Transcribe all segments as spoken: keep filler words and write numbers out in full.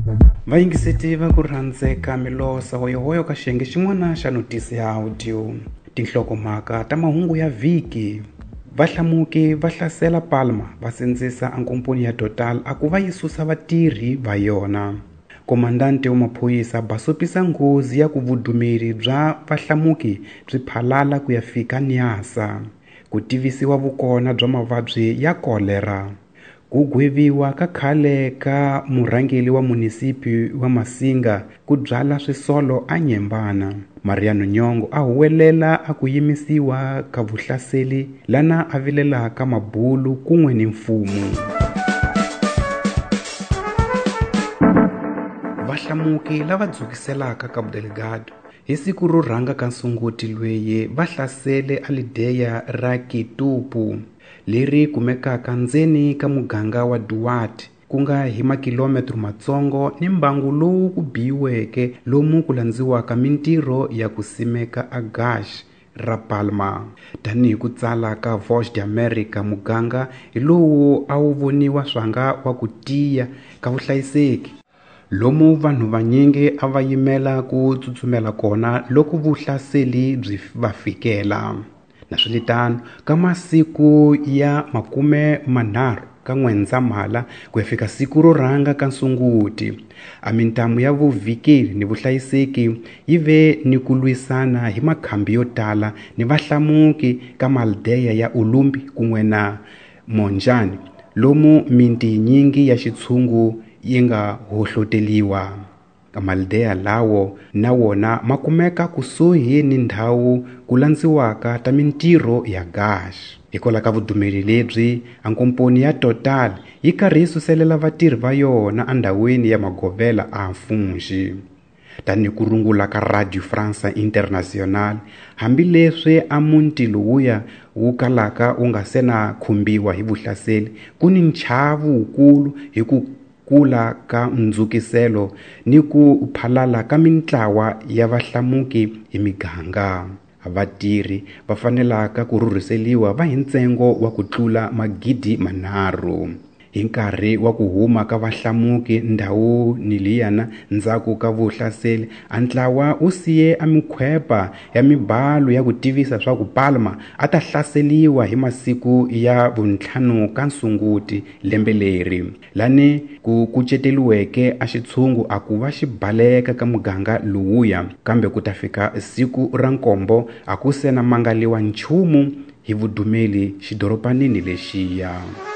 vayingiseti va ku rhandzeka milosa hoyohoyo ka xiyenge xin'wana xa notisi ya audio. Tinhlokomhaka ta mahungu ya vhiki. Vahlamuki va hlasela Palma va sindzisa ankomponi ya Total a ku va yi susa vatirhi va yona. Komandante wa maphorisa ba sopisa nghozi ya ku vudumeri bya vahlamuki byi phalala ku ya fika Niasa. Ku tivisiwa vukona bya mavabyi ya kolera. Ku gweviwa ka khale ka murhangeli wa munisipi wa Masinga ku byala swisolo a Nyembana. Mariano Nyong'o a huwelela a ku yimisiwa ka vuhlaseli lana a vilelaka mabulu kun'we ni mfumo. Vahlamuki lava dzukiselaka Cabo Delgado hi siku ro rhanga ka Sunguti lweyi va hlasele alideya ra Kitupu leri kumekaka ndzeni ka muganga wa Duarte ku nga hi makilometro matsongo ni mbangu lowu ku biyiweke lomu ku landziwaka mintirho ya ku simeka agash ra Palma. Tanihi ku tsala ka Voice de America, muganga hi lowu a wu voniwa swanga wa ku tiya ka vuhlayiseki lomu vanhu vanyingi a va yimela ku tsutsumela kona loko vuhlaseli byi va fikela. Naswitano ka masiku ya makume manharhu ka N'wendzamhala ku ya fika siku ro rhanga ka Sunguti, a mintamu ya vuvhikeli ni vuhlayiseki yi ve ni ku lwisana hi makhambi yo tala ni vahlamuki ka maldeya ya Ulumbi kun'we na Monjani lomu minti nyingi ya xitshungu yi nga hohloteliwa. Kamaldeya lawo na wona makumeka kusuhi ni ndhawu ku landziwaka ta mintirho ya gash. Hikola ka vudumeri lebyi ankomponi ya Total yi karhi yi suselela vatirhi va yona andhawini ya magovela a Mfunxi. Tani ku rungula ka Radio France International, hambileswi a muti lowuya wu kalaka wu nga se na khumbiwa hi vuhlaseli ku ni nchavu wukulu hi ku kula ka ndzukiselo ni ku phalala ka mintlawa ya vahlamuki hi miganga. Vatirhi va fanelaka ku rhurhiseliwa va hi ntsengo wa ku tlula magidi manharhu. Hi nkarhi wa ku huma ka vahlamuki ndhawu ni liyana ndzhaku ka vuhlaseli, a ntlawa wu siye a mikhwepa ya mibalo ya ku tivisa swa ku Palma a ta hlaseliwa hi masiku ya vuntlhanu ka Sunguti lembe leri. Lani ku kuceteliweke a xitshungu a ku va xi baleka ka muganga lowuya, kambe ku ta fika siku ra nkombo a ku se na mangaliwa nchumu hi vudumeli xidoropanini lexiya.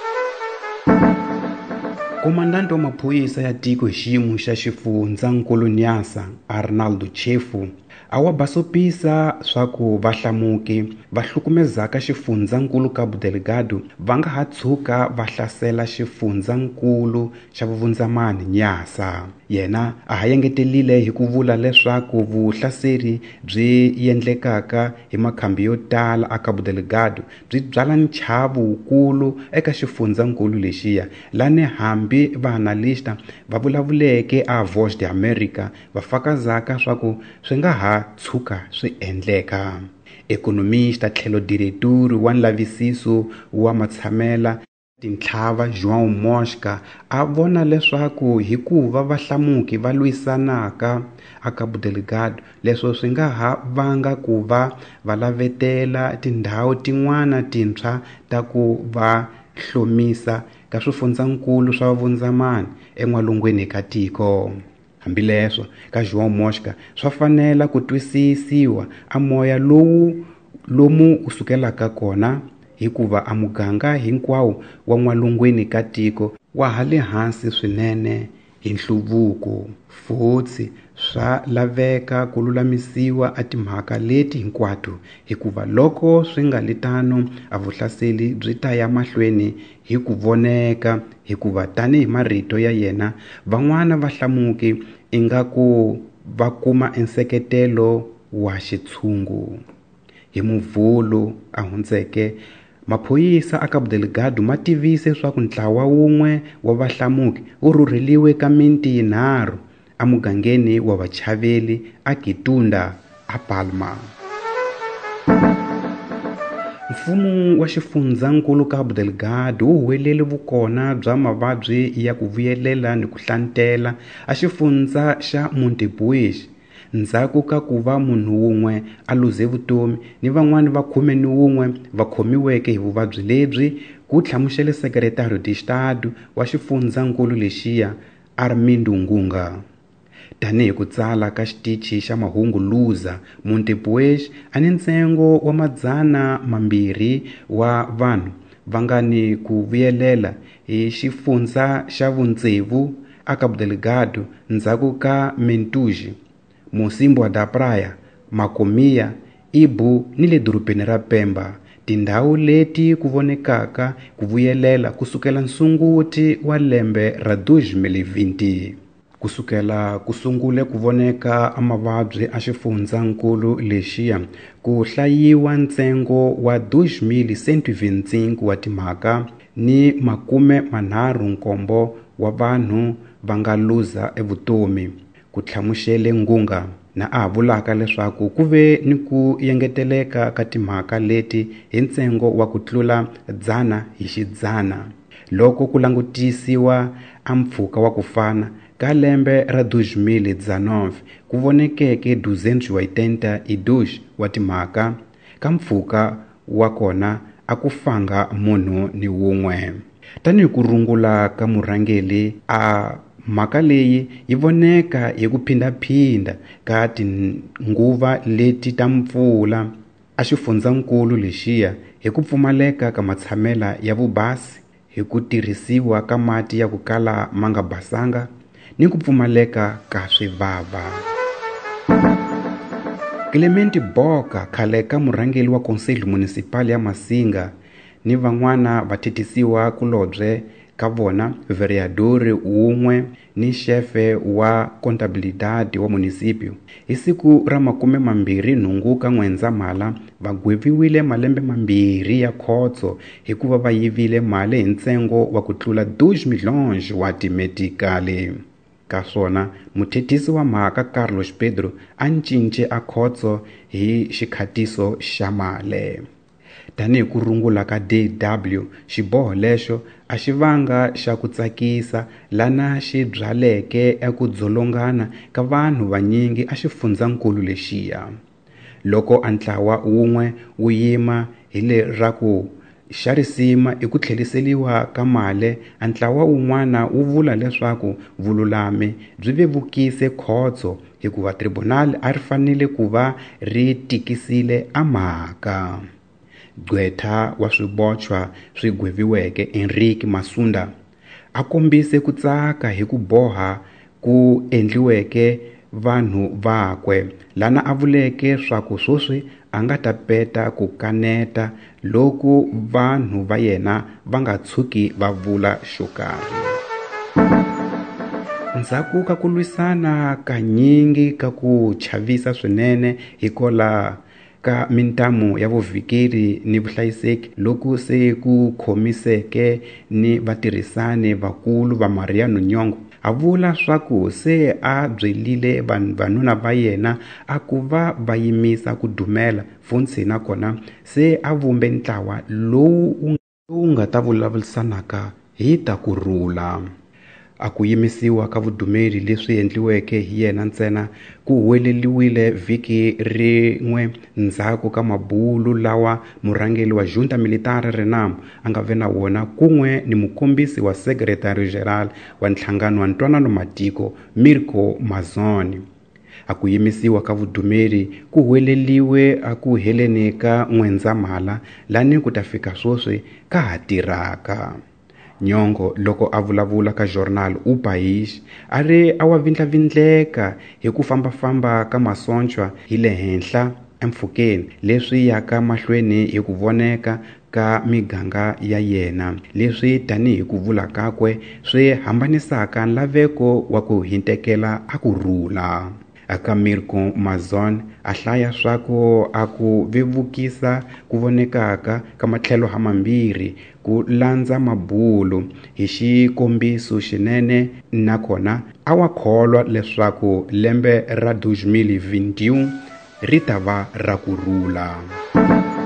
Komandante wa maphorisa ya tiko hi xiyimo xa xifundzankulu Niasa, Arnaldo Chefu, a wa basopisa swa ku vahlamuki va hlukumezaka xifundzankulu Cabo Delgado va nga ha tshuka va hlasela xifundzankulu xa vuvundzamani Niasa. Yena a ha yengetelile hi ku vula leswaku vuhlaseri byi endlekaka hi makhambi yo tala a Cabo Delgado byi byala nchavu wukulu eka xifundzankulu lexiya, lani hambi vaanalista va vulavuleke a Voice de America va fakazaka swa ku swi nga ha tshuka swi endleka. Ekonomista tlhelo diretori wa nlavisiso wa matshamela tintlhava João Mosca a vona leswaku hikuva vahlamuki va lwisanaka a Cabo Delgado, leswo swi nga ha vanga ku va va lavetela tindhawu tin'wana tintshwa ta ku va hlomisa ka swifundzankulu swa vundzamani en'walungwini ka tiko. Hambileswo ka João Mosca swa fanela ku twisisiwa a moya lowu lomu usukelaka kona, hikuva a muganga hinkwawo wa n'walungwini ka tiko wa hale hansi swinene hi nhluvuko. Futsi swa laveka ku lulamisiwa a timhaka leti hinkwato, hikuva loko swi nga litano a vuhlaseli byi ta ya mahlweni hi ku voneka, hikuva tanihi marito ya yena van'wana vahlamuki ingaku va kuma enseketelo wa xitshungu. Hi Muvhulu a hundzeke, maphoyisa a Cabo Delgado ma tivise swa ku ntlawa wun'we wa vahlamuki wu rhurheliwe ka minti yinharhu a mugangeni wa vachaveli a Kitunda a Palma. Mfumo wa xifundzankulu Cabo Delgado wu huwelele vukona bya mavabyi ya ku vuyelela ni ku hlantela a xifundza xa Montepuez ndzhaku ka ku va munhu wun'we a luze vutomi ni van'wani va khume ni wun'we va khomiweke hi vuvabyi lebyi, ku hlamusele Secretary de Estado wa xifundzankulu lexiya Armindo Ngunga. Tanihi ku tsala ka xitichi xa mahungu Luza, Montepuez a ni ntsengo wa madzana mambirhi wa vanhu va nga ni ku vuyelela hi xifundza xa vutsevu a Cabo Delgado ndzhaku ka Mentuji, Mocimboa da Praia, Macomia, Ibu ni le dorobeni ra Pemba, tindhawu leti ku vonekaka ku vuyelela kusukela Sunguti wa lembe ra twenty twenty. Kusukela kusungule ku voneka amavabyi a xifundzankulu lexiya ku hlayiwa ntsengo wa two thousand one hundred twenty-five wa timhaka ni makume manharhu nkombo wa vanhu va nga luza evutomi, ku hlamusele Ngunga, na a vulaka leswaku ku ve ni ku yengeteleka ka timhaka leti hi ntsengo wa ku tlula dzana hi xidzana loko ku langutisiwa a mpfhuka wa ku fana ka lembe ra two thousand nineteen ku vonekeke duzentos e oitenta e dois wa timhaka ka mpfhuka wa kona a ku fanga munhu ni wun'we. Tanihi ku rungula ka murhangeli, a mhaka leyi yi voneka hi ku phindaphinda ka tinguva leti ta mpfula a xifundzankulu lexiya hi ku pfumaleka ka matshamela ya vubasi, hi ku tirhisiwa ka mati ya ku kala ma nga basanga ni ku pfumaleka ka swivava. Clement Boka, khale ka murhangeli wa Konseli Municipal ya Masinga, ni van'wana va thethisiwa kulobye ka vona vereadori wun'we ni xefe wa contabilidade wa municipio. Hi siku ra makume mambirhi nhungu ka N'wendzamhala va gweviwile malembe mambirhi ya khotso hikuva va yivile mali hi ntsengo wa ku tlula two milhões wa timetikali. Kaswona muthethisi wa mhaka Carlos Pedro a cince a khotso hi xikhatiso xa male. Tanihi ku rungula ka D W, xiboho lexo a xi vanga xa ku tsakisa lana xi byaleke eku dzolongana ka vanhu vanyingi a xifundzankulu lexiya. Loko a ntlawa wun'we wu yima hi le ra ku xarisima i ku tlheliseliwa ka male, a ntlawa wun'wana wu vula leswaku vululami byi vevukise khotso hikuva tribunal a ri fanele ku va ri tikisile a mhaka. Gqweta wa swibochwa swi gweviweke Henrique Masunda a kombise ku tsaka hi ku boha ku endliweke vanhu vakwe, lana a vuleke swaku swoswi a nga ta peta ku kaneta loku vanhu va yena va nga tshuki va vula xo karhi. Ndzhaku ka ku lwisana ka nyingi ka ku chavisa swinene hikola ka mintamu ya vuvikeri ni vuhlayiseki loku se ku khomiseke ni vatirhisani vakulu va Mariano Nyong'o, a vula swaku se a byelile vanhuna va yena a ku va va yimisa ku dumela funtsi na kona se a vumbe ntlawa lowu nga ta vulavurisanaka hi ta kurhula. A ku yimisiwa ka vudumeli leswi endliweke hi yena ntsena ku huweleliwile vhiki rin'we ndzhaku ka mabulu lawa murhangeli wa Junta Militar Renamo a nga ve na wona kun'we ni mukombisi wa Secretary General wa nhlangano wa ntwanano matiko Mirko Mazoni. A ku yimisiwa ka vudumeli ku huweleliwe a ku heleni ka N'wendzamhala lani ku ta fika swoswi ka ha tirhaka. Nyong'o loko a vulavula ka journal U País a ri a wa vindlavindleka hi ku fambafamba ka masonchwa hi le henhla empfhukeni leswi yaka mahlweni hi ku voneka ka miganga ya yena, leswi tanihi ku vula kakwe swi hambanisaka nlaveko wa ku hintekela a kurhula. Aka Mirko Mazon a hlaya swaku a ku vevukisa ku vonekaka ka matlhelo hamambirhi ku landza mabulu hi xikombiso xinene, nakona a wa kholwa leswaku lembe ra twenty twenty-one ri ta va ra kurhula.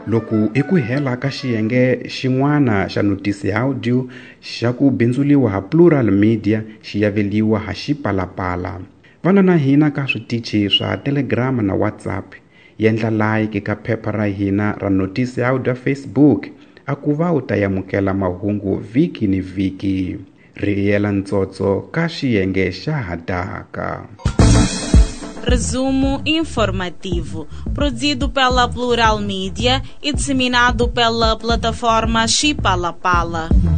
Loko i ku hela ka xiyenge xin'wana xa notisi audio xa ku bindzuliwa ha Plural Media xi yaveliwa ha Xipalapala. Vana na hina ka switichi swa Telegram na WhatsApp. Yendla like ka phepha ra hina ra notisi audio Facebook a ku va u ta yamukela mahungu vhiki ni vhiki. Ri yela ntsotso ka xiyenge xa hataka. Resumo informativo, produzido pela Plural Media e disseminado pela plataforma Xipalapala.